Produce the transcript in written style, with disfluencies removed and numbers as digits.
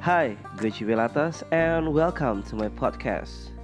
Hai, gue Ciwelatas and welcome to my podcast.